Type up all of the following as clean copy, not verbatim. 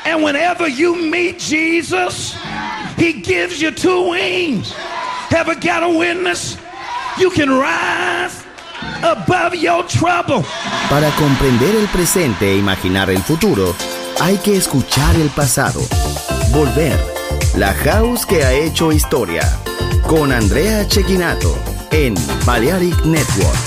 And whenever you meet Jesus, he gives you two wings. Ever got a witness? You can rise above your trouble. Para comprender el presente e imaginar el futuro, hay que escuchar el pasado. Volver. La House que ha hecho historia. Con Andrea Cecchinato en Balearic Network.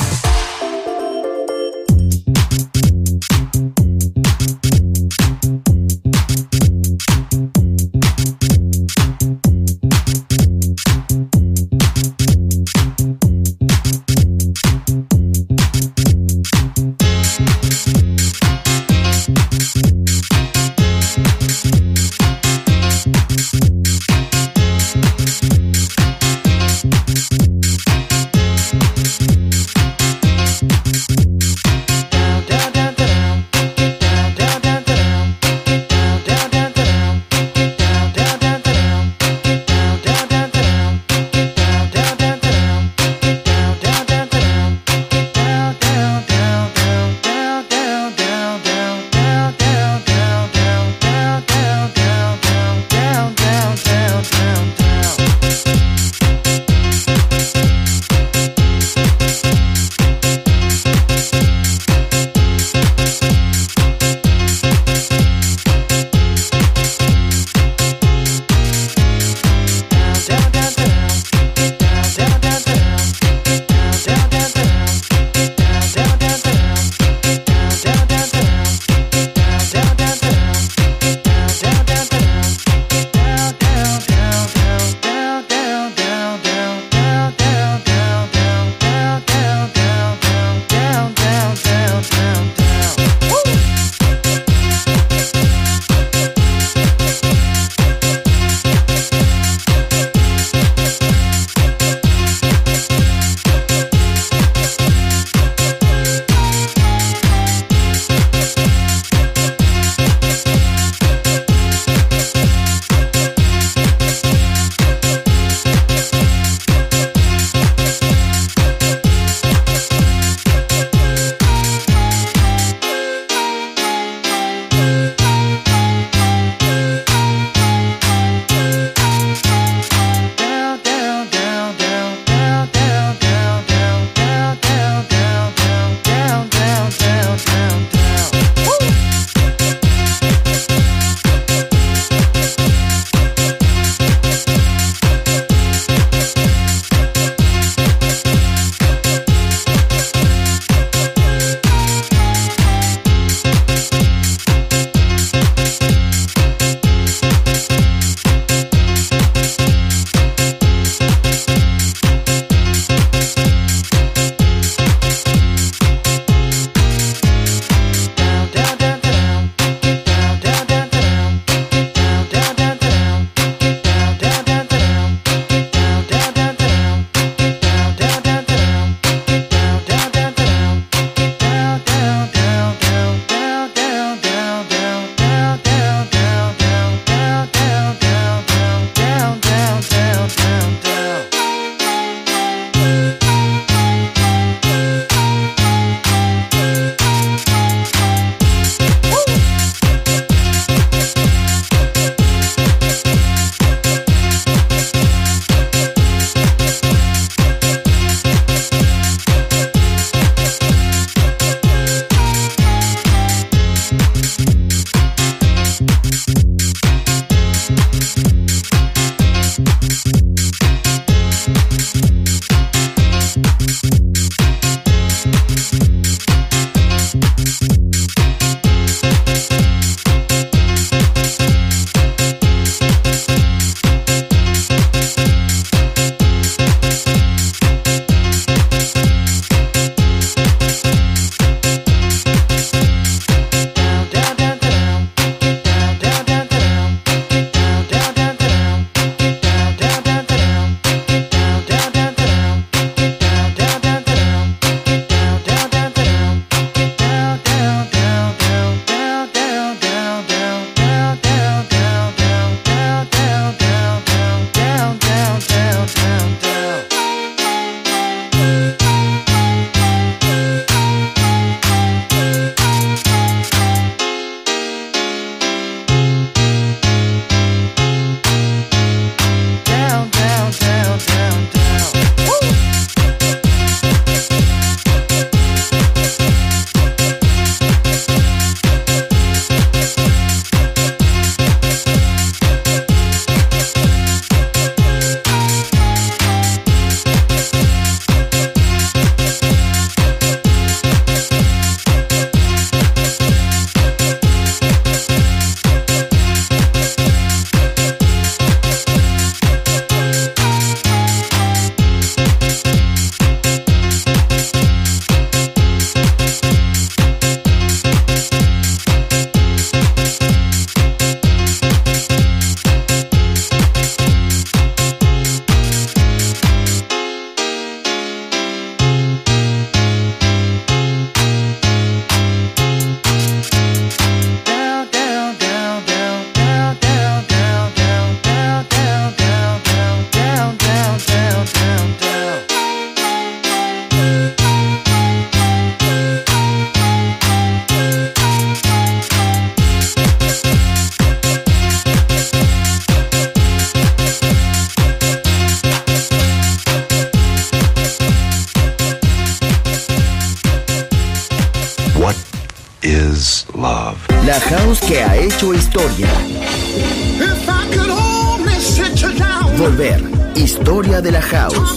of. La house que ha hecho historia. If I could only sit you down. Volver. Historia de la house.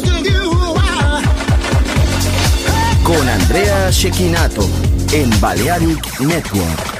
Con Andrea Cecchinato en Balearic Network.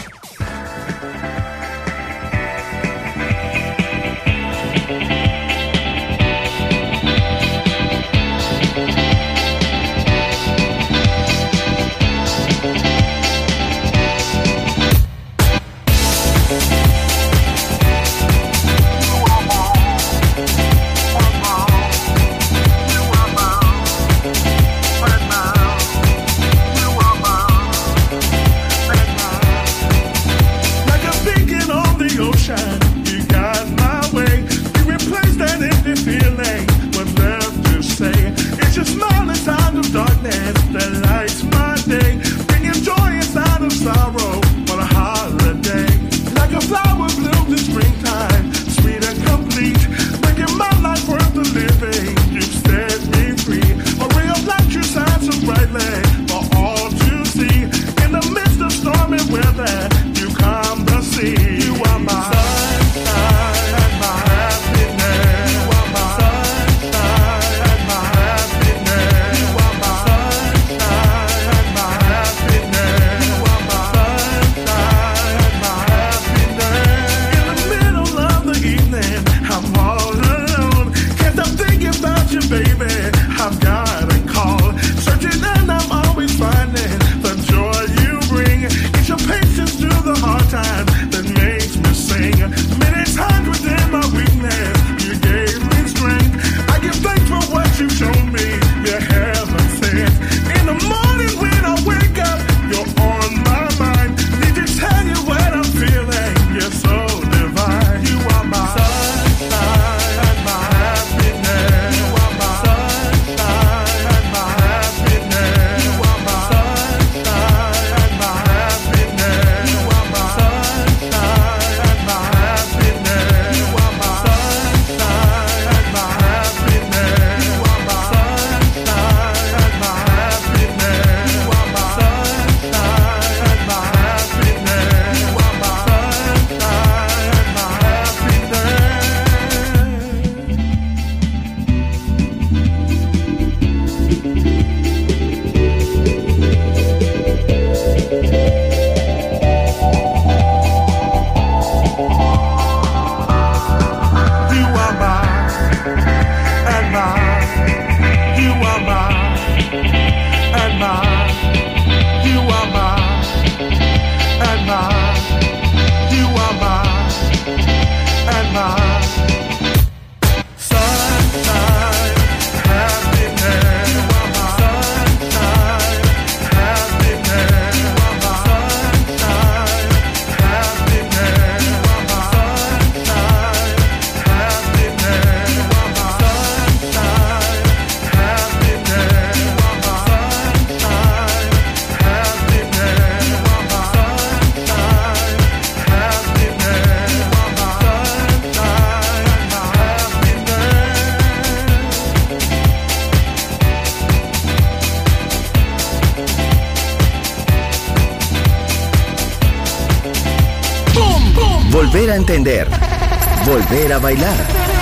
Volver a entender. Volver a bailar.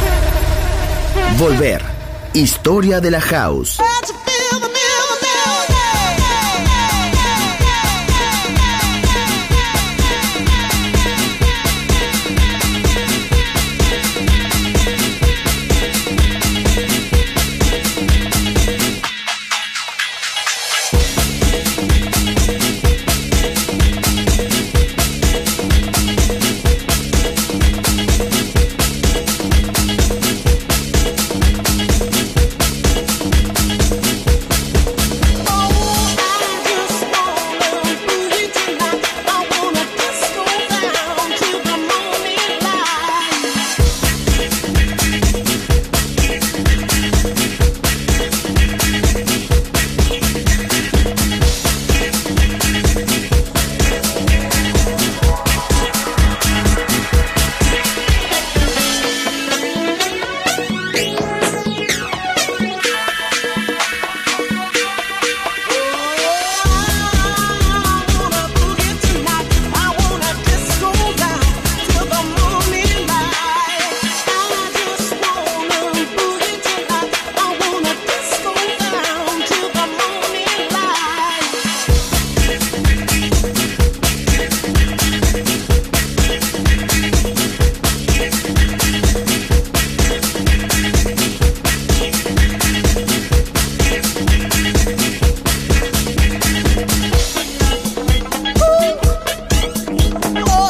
Volver. Historia de la house.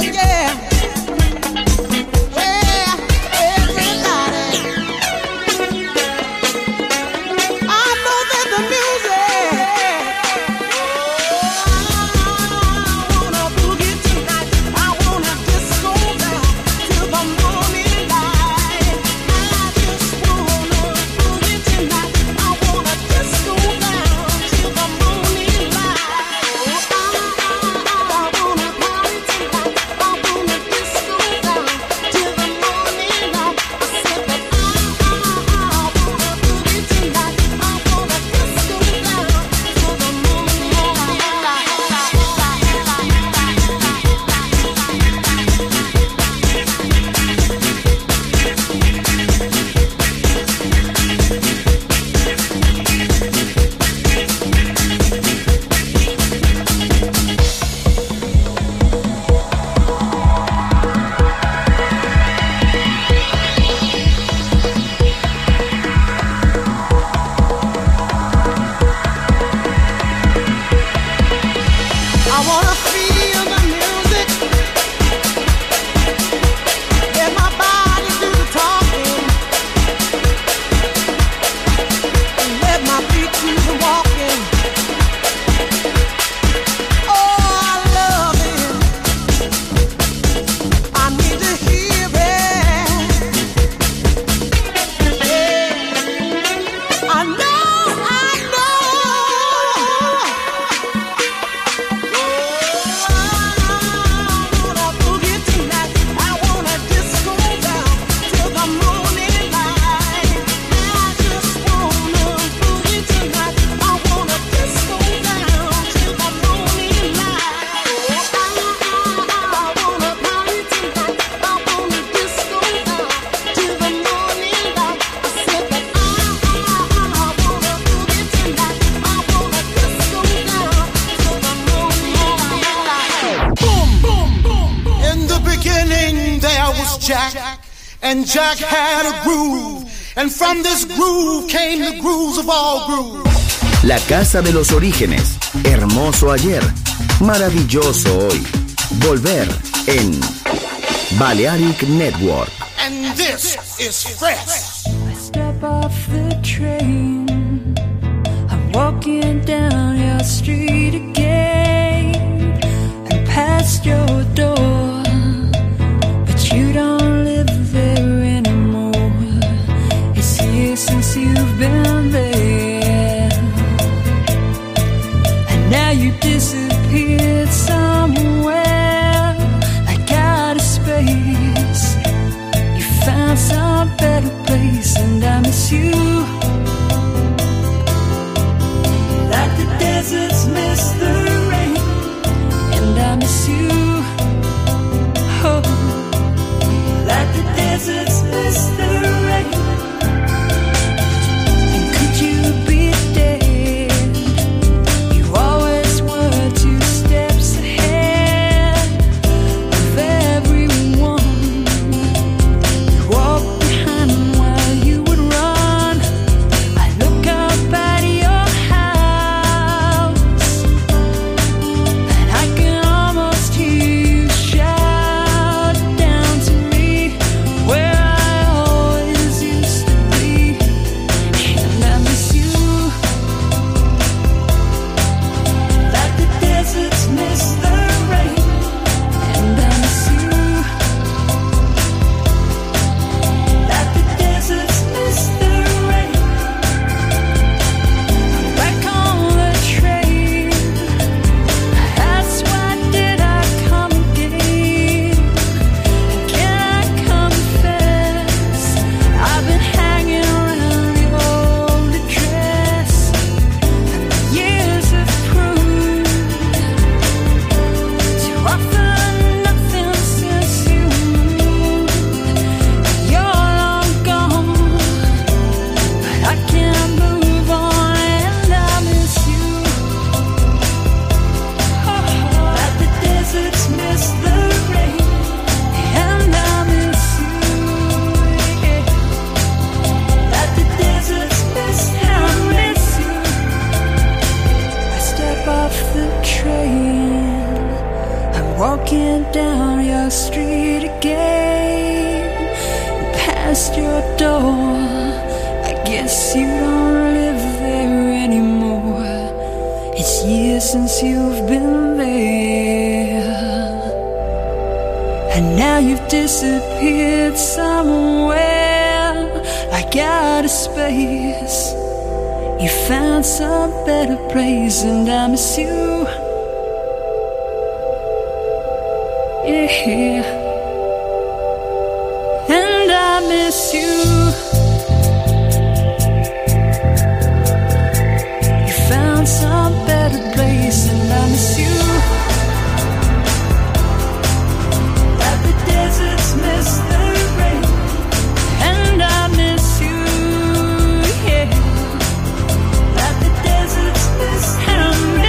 And Jack had a groove, and from this groove came the grooves of all grooves. La casa de los orígenes, hermoso ayer, maravilloso hoy. Volver en Balearic Network. And this is fresh. I step off the train, I'm walking down your street again, and past your door, but you don't live there anymore. It's years since you've been there, and now you disappeared somewhere like out of space. You found some better place, and I miss you like the deserts miss the rain, and I miss you down your street again, past your door. I guess you don't live there anymore. It's years since you've been there, and now you've disappeared somewhere like out of space. You found some better place, and I miss you. Yeah, and I miss you. You found some better place, and I miss you. That the deserts miss the rain, and I miss you. Yeah, that the deserts miss the rain.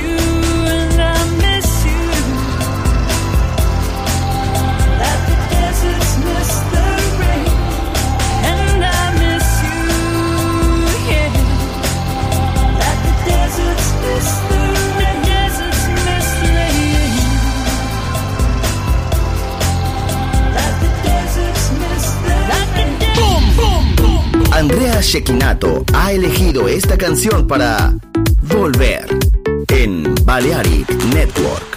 Andrea Cecchinato ha elegido esta canción para Volver en Balearic Network.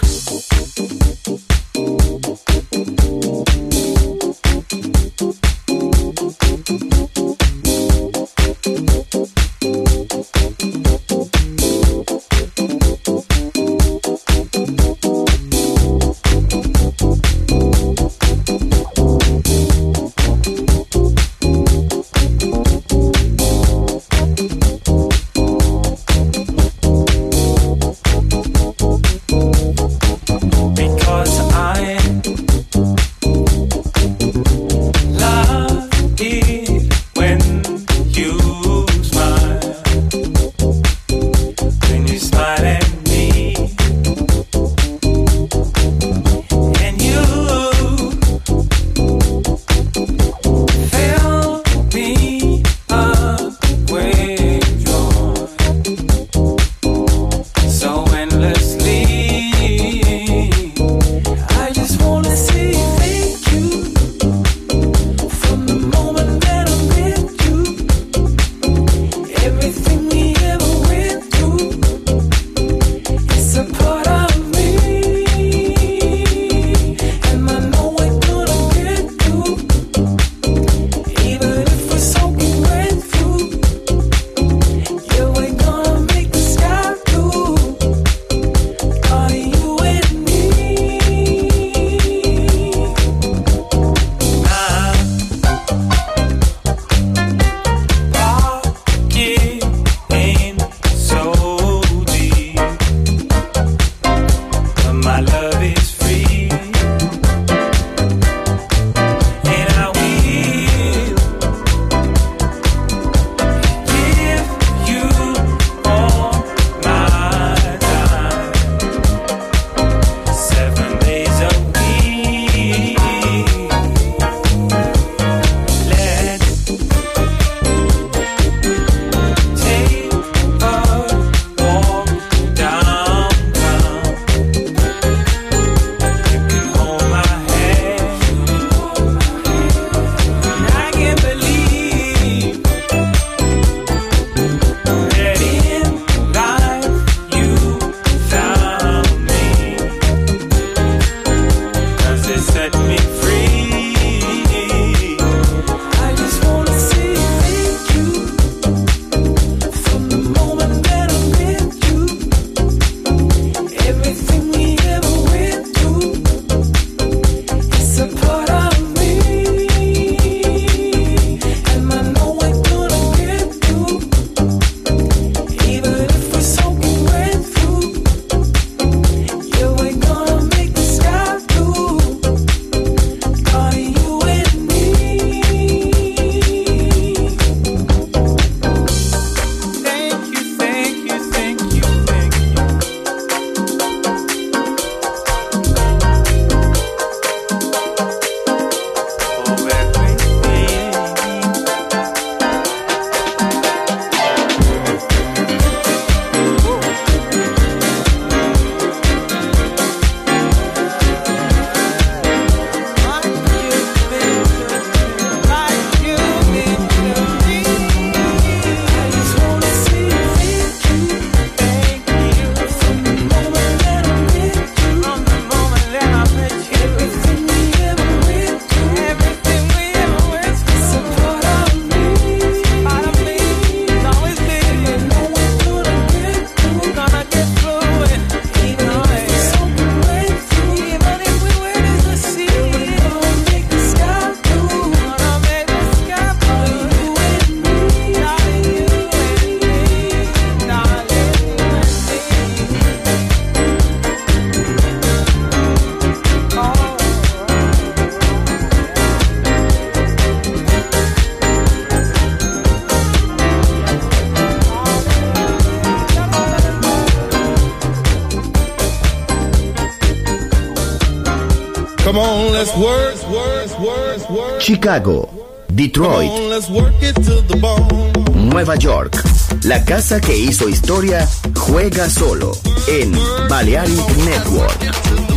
Come on, let's work. Chicago, Detroit, Come on, let's work it to the bone. Nueva York. La casa que hizo historia juega solo en Balearic Network.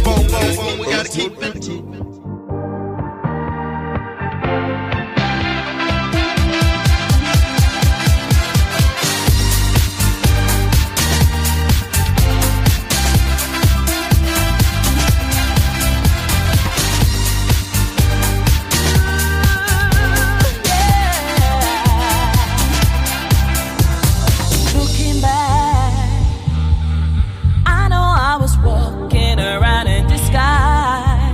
Walking around in disguise.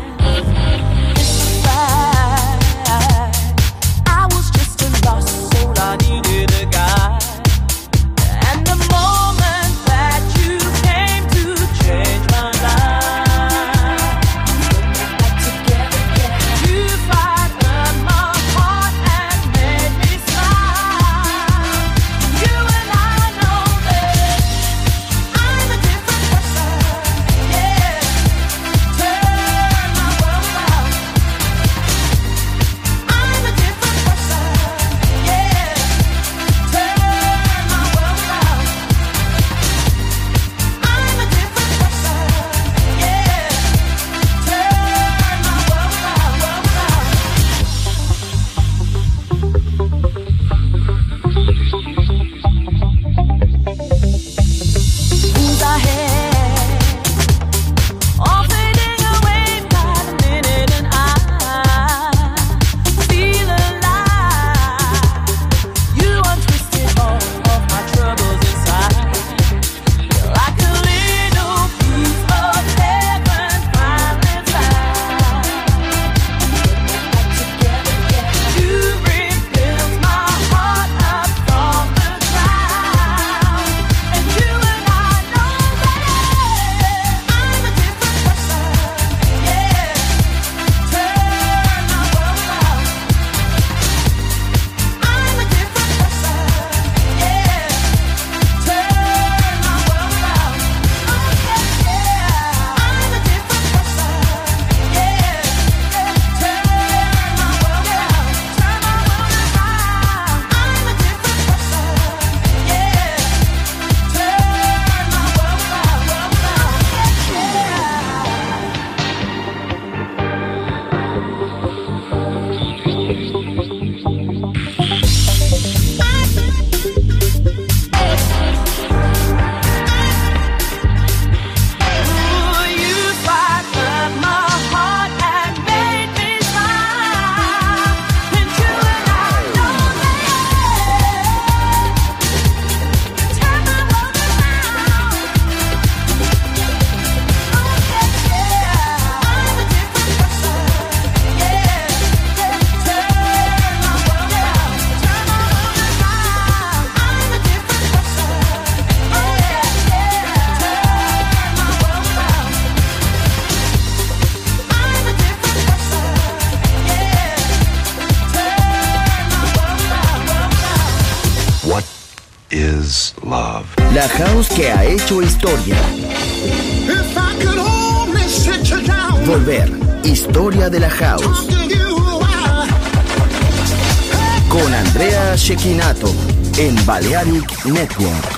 is love. La house que ha hecho historia. If I could only sit you down. Volver. Historia de la house. Con Andrea Cecchinato en Balearic Network.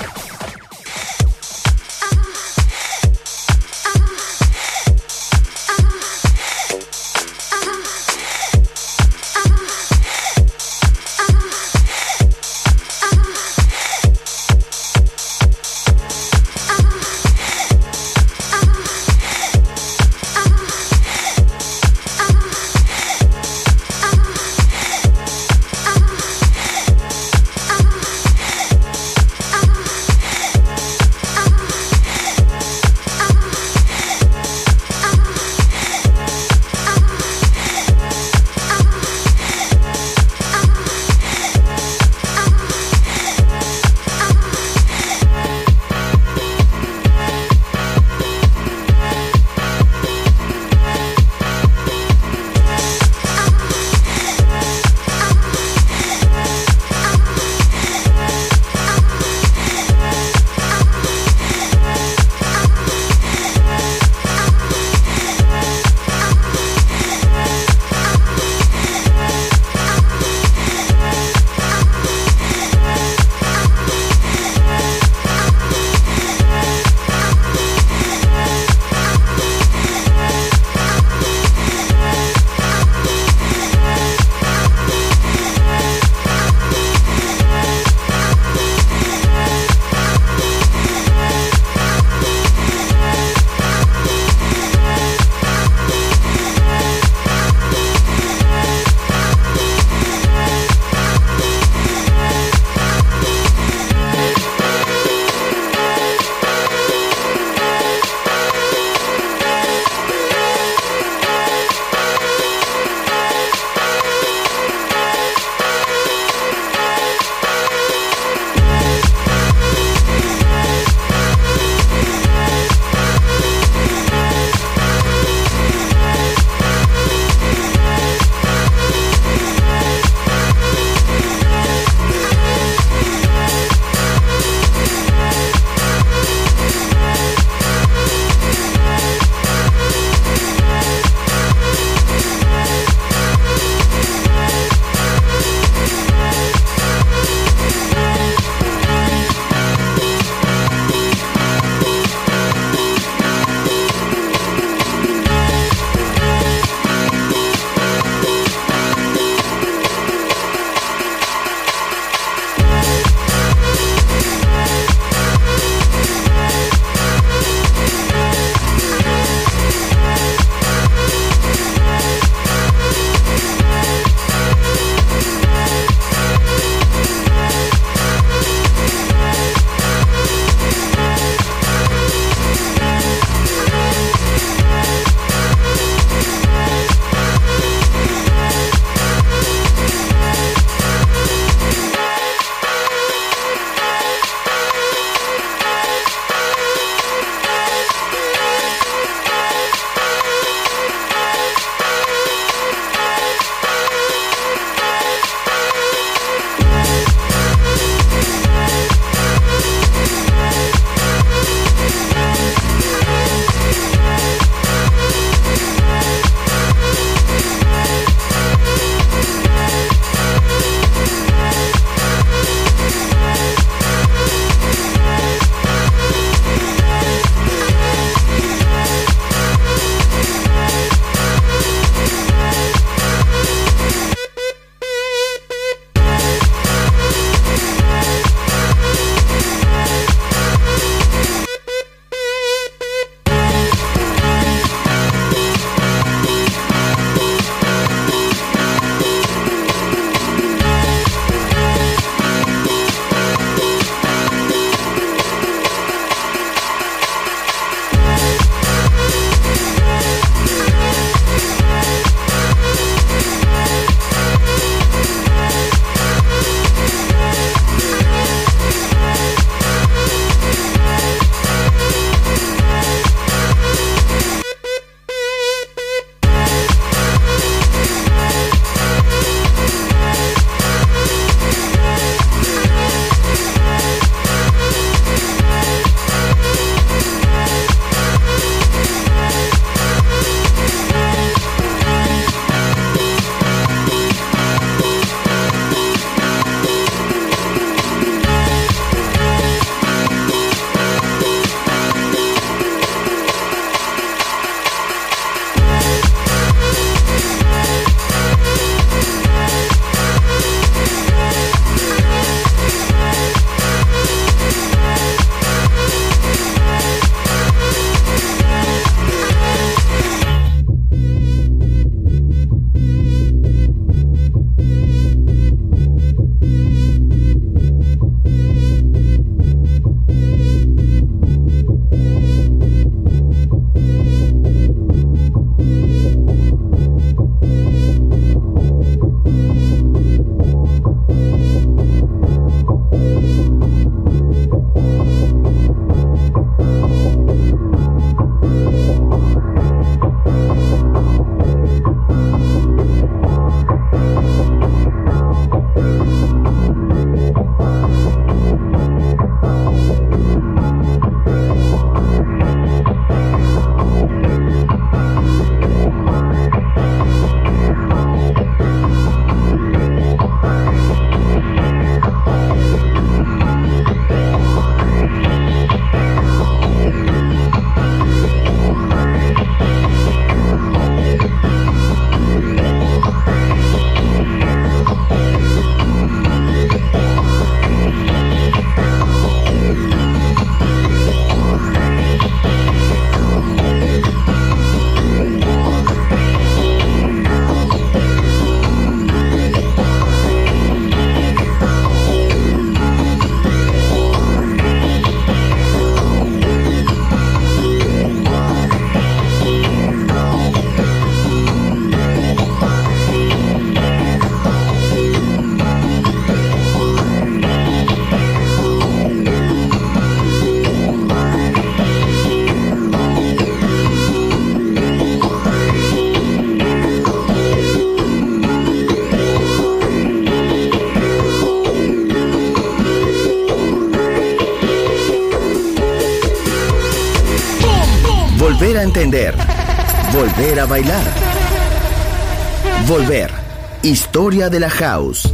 volver a entender, volver a bailar. Volver. Historia de la House.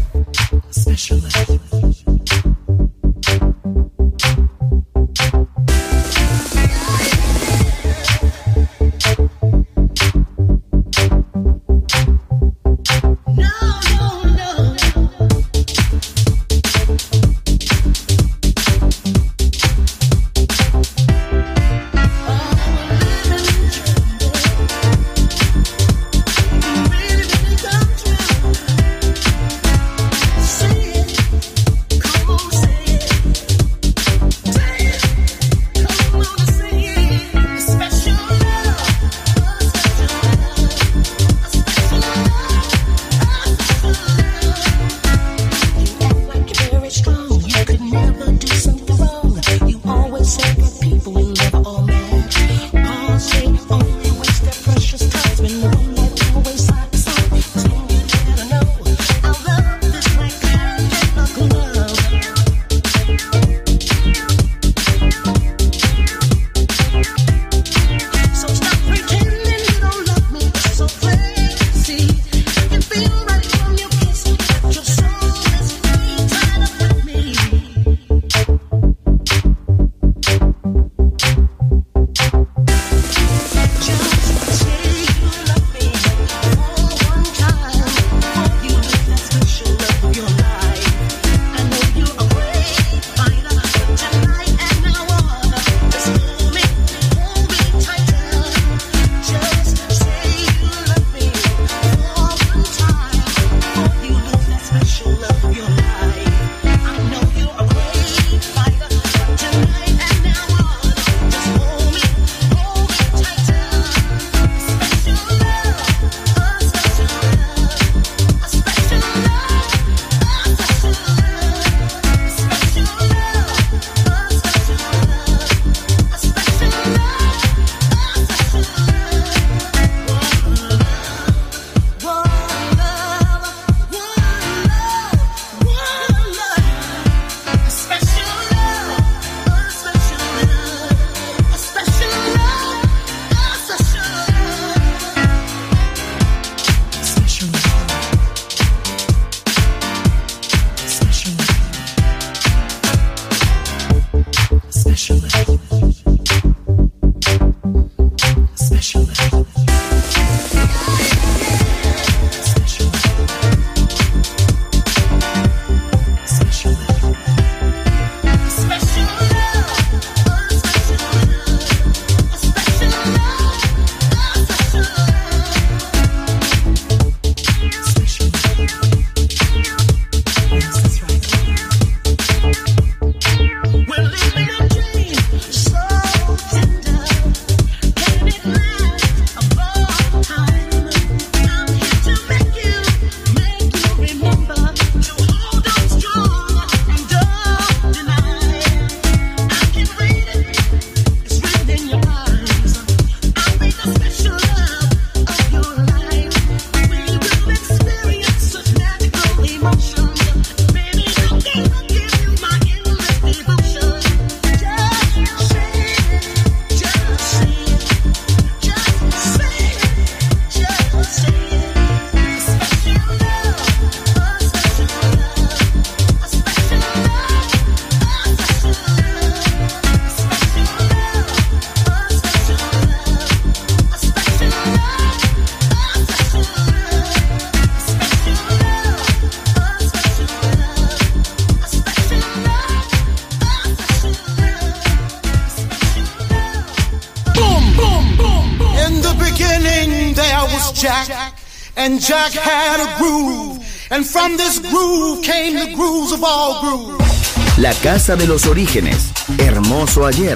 Jack, and Jack had a groove, and from this groove came the grooves of all grooves. La casa de los orígenes, hermoso ayer,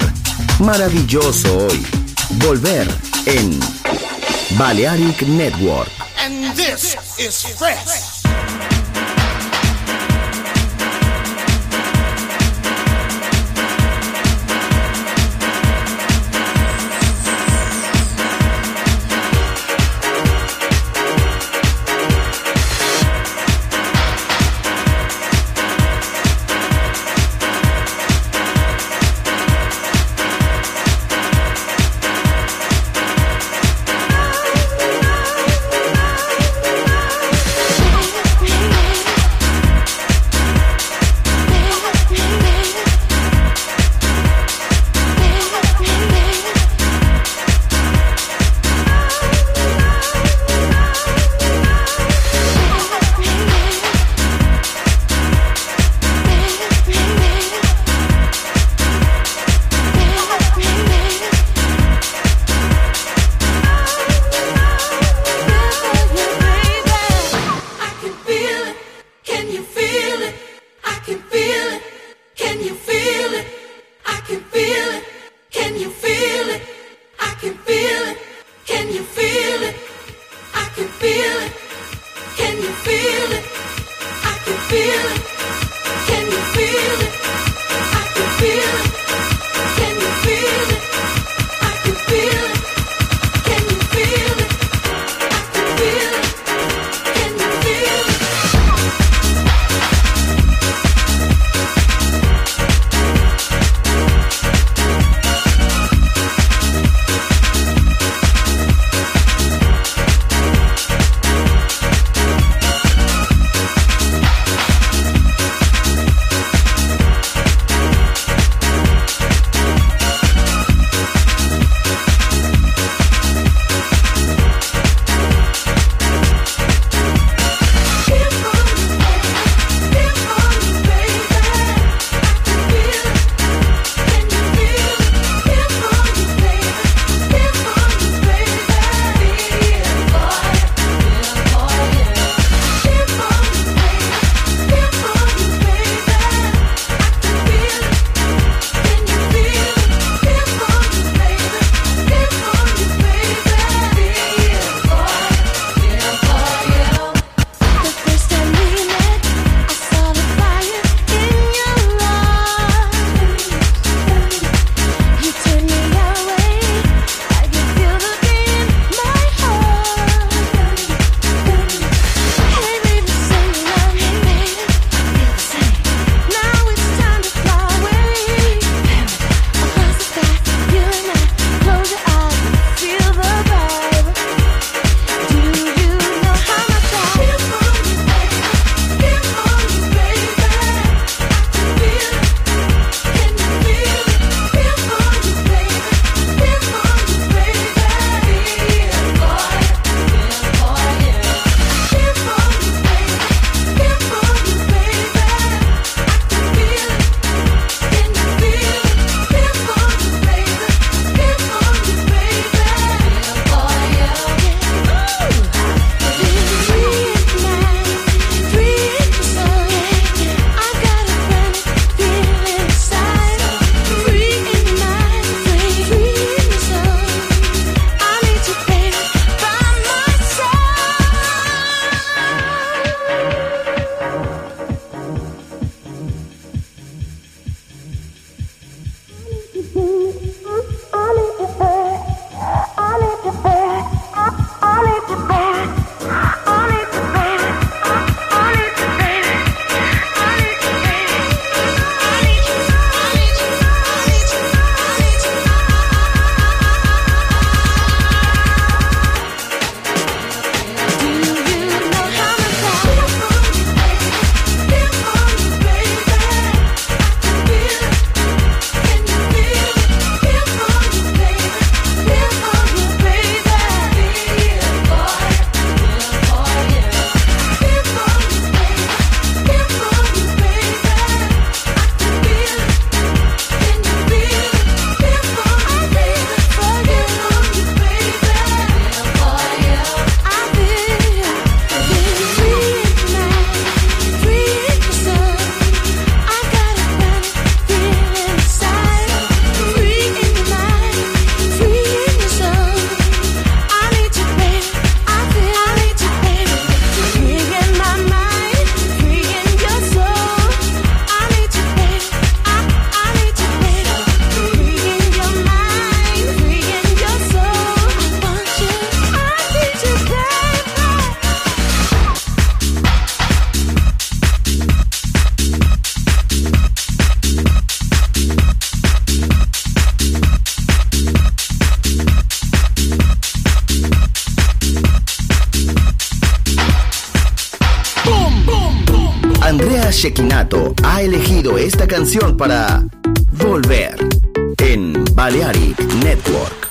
maravilloso hoy. Volver en Balearic Network. And this is fresh. Andrea Cecchinato ha elegido esta canción para Volver en Balearic Network.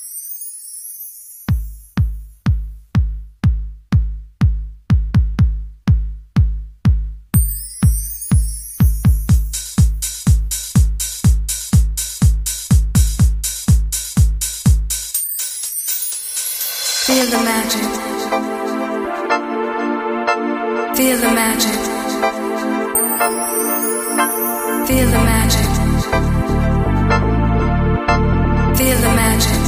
Feel the magic. Feel the magic. Feel the magic. Feel the magic.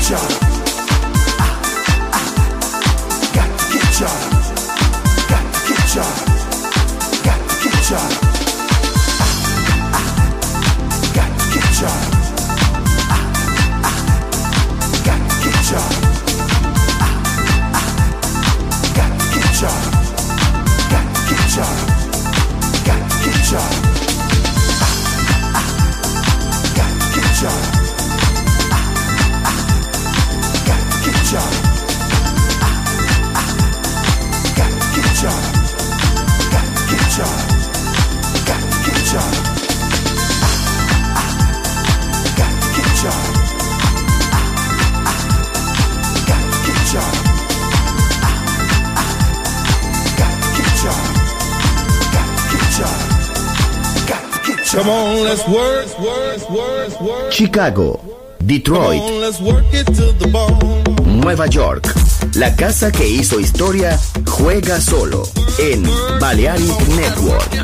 ya. Got to get ya. Got to get ya. Got to get ya. Got to get ya. Got to get ya. Got to get ya. Got to get ya. Got to get ya. Got to get ya. Got to get ya. Got to get ya. Got to get ya. Got to get ya. Got to get ya. Got to get ya. Got to get ya. Got to get ya. Got to get ya. Come on, let's work. Chicago, Detroit, Come on, let's work it to the bone. Nueva York. La casa que hizo historia juega solo en Balearic Network.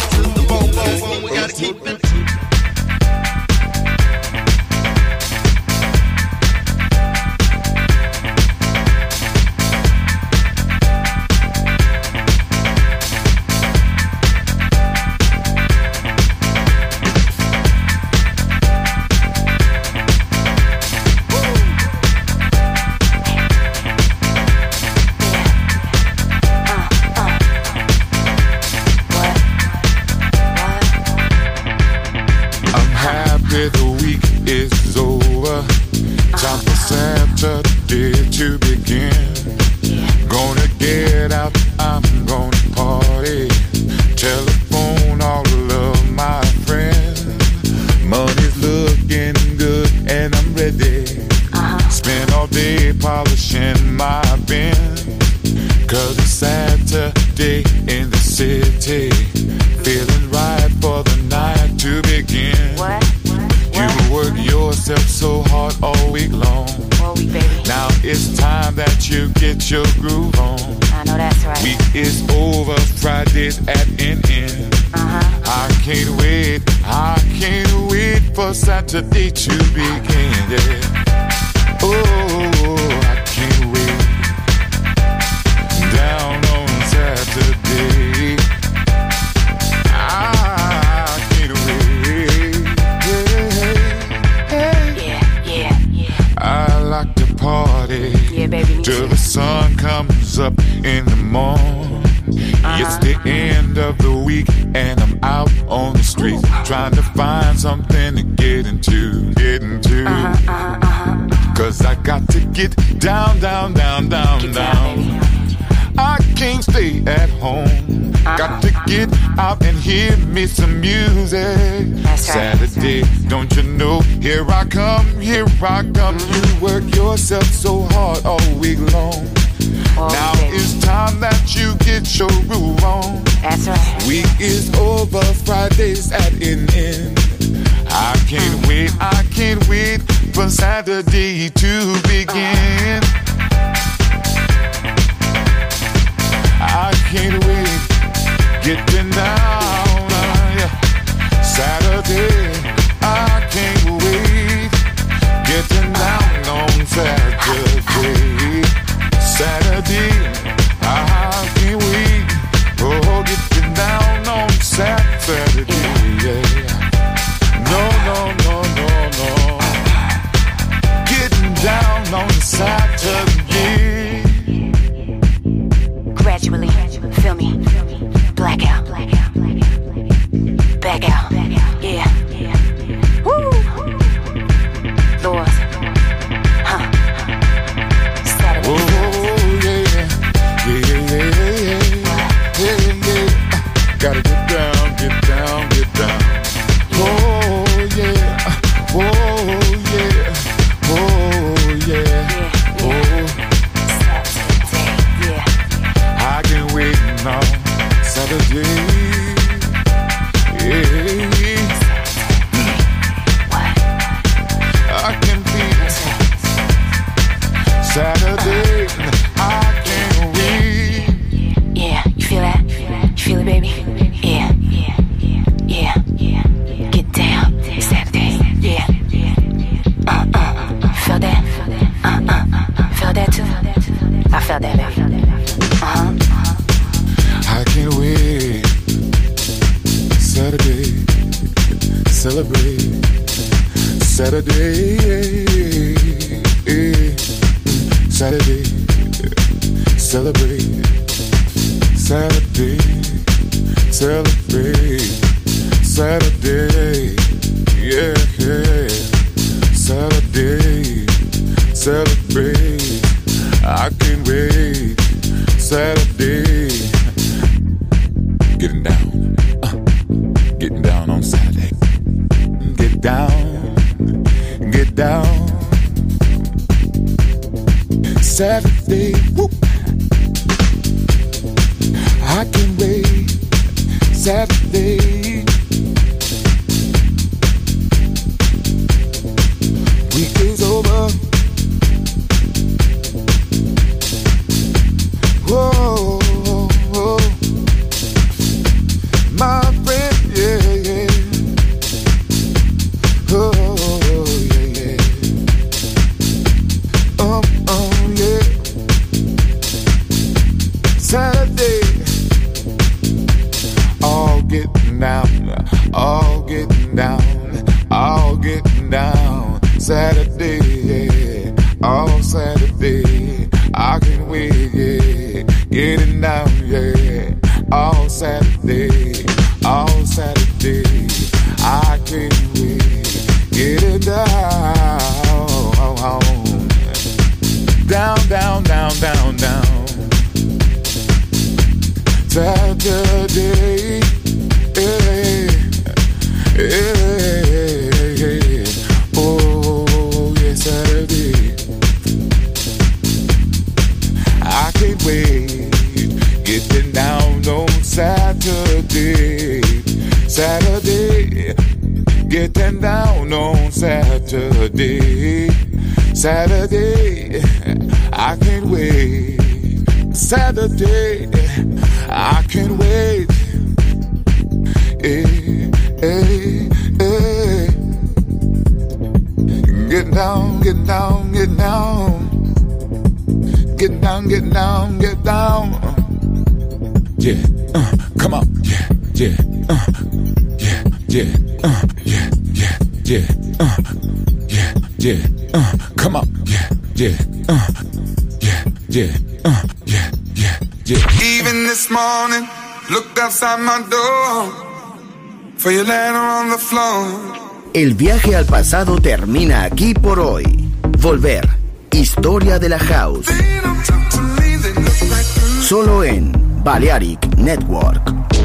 The week is over. Time for Saturday to begin. Gonna get out, I'm gonna party. Telephone all of my friends. Money's looking good and I'm ready. Spend all day polishing my bin. Cause it's Saturday in the city. Feeling right for the night to begin. You work yourself so hard all week long. Now it's time that you get your groove on. I know that's right. Week is over, Friday's at an end. I can't wait for Saturday to begin. Yeah. Oh, I can't wait. Down on Saturday. Party, yeah, baby, till the sun comes up in the morning. It's the end of the week and I'm out on the streets trying to find something to get into. Cause I got to get down. I can't stay at home. Got to get out and hear me some music. That's right. Saturday, don't you know? Here I come. You work yourself so hard all week long. Now baby, it's time that you get your groove on. that's right. Week is over, Friday's at an end. I can't wait for Saturday to begin. I can't wait, getting down, yeah. Saturday, I can't wait, getting down on Saturday. Saturday, I can't wait, oh, getting down on Saturday, yeah. No, getting down on Saturday. Saturday, Saturday, celebrate. Saturday, celebrate. Saturday, yeah, yeah. Saturday, celebrate. I can't wait. Saturday, getting down on Saturday. Get down. Saturday, whoop. I can't wait. Saturday, week is over. Whoa, whoa. My friend, yeah, yeah. Oh, yeah, yeah. Yeah. Saturday, all getting down, all getting down, all getting down. Saturday, yeah, all Saturday, I can't wait, yeah, getting down, yeah, all Saturday, I can't wait, getting down, down. Saturday, oh yeah, Saturday, I can't wait, getting down on Saturday, getting down on Saturday, I can't wait. Saturday, I can't wait. Get down. Yeah, come on. Yeah. Come on. Yeah. Even this morning, looked outside my door for your letter on the floor. El viaje al pasado termina aquí por hoy. Volver. Historia de la House. Solo en Balearic Network.